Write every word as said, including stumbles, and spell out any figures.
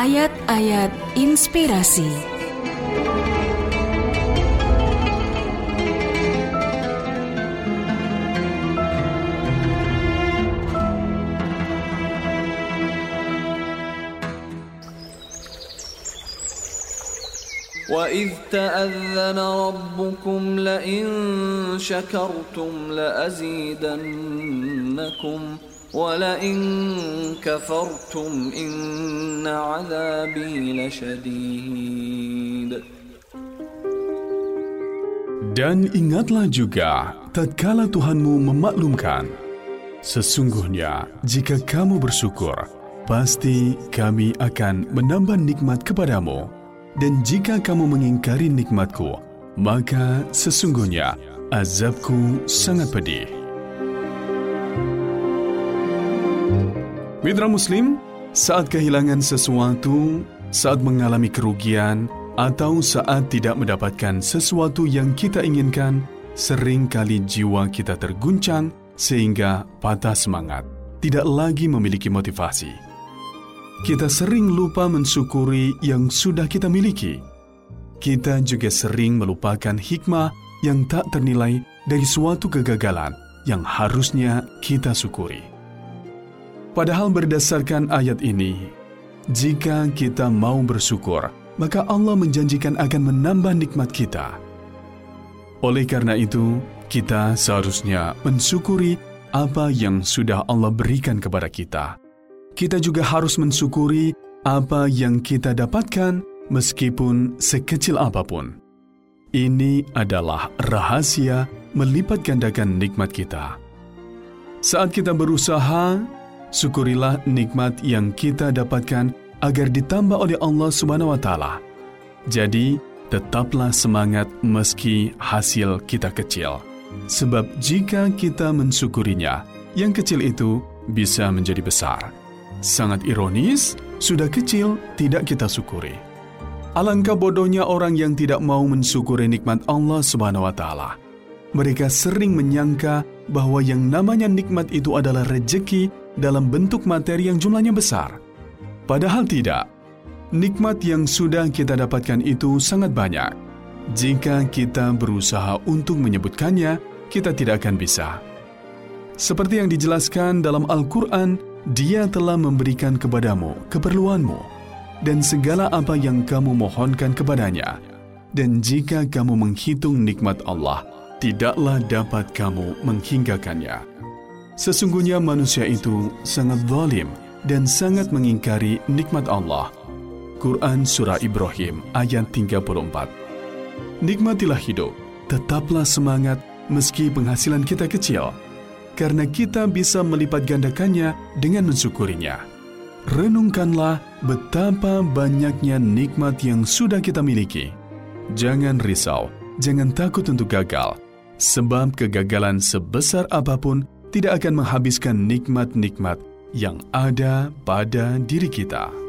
Ayat-ayat inspirasi. وَإِذْ تَأَذَّنَ رَبُّكُمْ لَئِن شَكَرْتُمْ لَأَزِيدَنَّكُمْ وَلَئِن كَفَرْتُمْ إِنَّ عَذَابِي لَشَدِيدٌ. Dan ingatlah juga tatkala Tuhanmu memaklumkan, sesungguhnya jika kamu bersyukur, pasti kami akan menambah nikmat kepadamu. Dan jika kamu mengingkari nikmatku, maka sesungguhnya azabku sangat pedih. Mitra Muslim, saat kehilangan sesuatu, saat mengalami kerugian, atau saat tidak mendapatkan sesuatu yang kita inginkan, seringkali jiwa kita terguncang sehingga patah semangat, tidak lagi memiliki motivasi. Kita sering lupa mensyukuri yang sudah kita miliki. Kita juga sering melupakan hikmah yang tak ternilai dari suatu kegagalan yang harusnya kita syukuri. Padahal berdasarkan ayat ini, jika kita mau bersyukur, maka Allah menjanjikan akan menambah nikmat kita. Oleh karena itu, kita seharusnya mensyukuri apa yang sudah Allah berikan kepada kita. Kita juga harus mensyukuri apa yang kita dapatkan meskipun sekecil apapun. Ini adalah rahasia melipat gandakan nikmat kita. Saat kita berusaha, syukurilah nikmat yang kita dapatkan agar ditambah oleh Allah Subhanahu wa Ta'ala. Jadi, tetaplah semangat meski hasil kita kecil. Sebab jika kita mensyukurinya, yang kecil itu bisa menjadi besar. Sangat ironis, sudah kecil tidak kita syukuri. Alangkah bodohnya orang yang tidak mau mensyukuri nikmat Allah Subhanahu wa Ta'ala. Mereka sering menyangka bahwa yang namanya nikmat itu adalah rejeki dalam bentuk materi yang jumlahnya besar. Padahal tidak. Nikmat yang sudah kita dapatkan itu sangat banyak. Jika kita berusaha untuk menyebutkannya, kita tidak akan bisa. Seperti yang dijelaskan dalam Al-Quran, Dia telah memberikan kepadamu keperluanmu dan segala apa yang kamu mohonkan kepadanya. Dan jika kamu menghitung nikmat Allah, tidaklah dapat kamu menghinggakannya. Sesungguhnya manusia itu sangat zalim dan sangat mengingkari nikmat Allah. Quran Surah Ibrahim ayat tiga puluh empat. Nikmatilah hidup, tetaplah semangat meski penghasilan kita kecil, karena kita bisa melipat gandakannya dengan mensyukurinya. Renungkanlah betapa banyaknya nikmat yang sudah kita miliki. Jangan risau, jangan takut untuk gagal, sebab kegagalan sebesar apapun tidak akan menghabiskan nikmat-nikmat yang ada pada diri kita.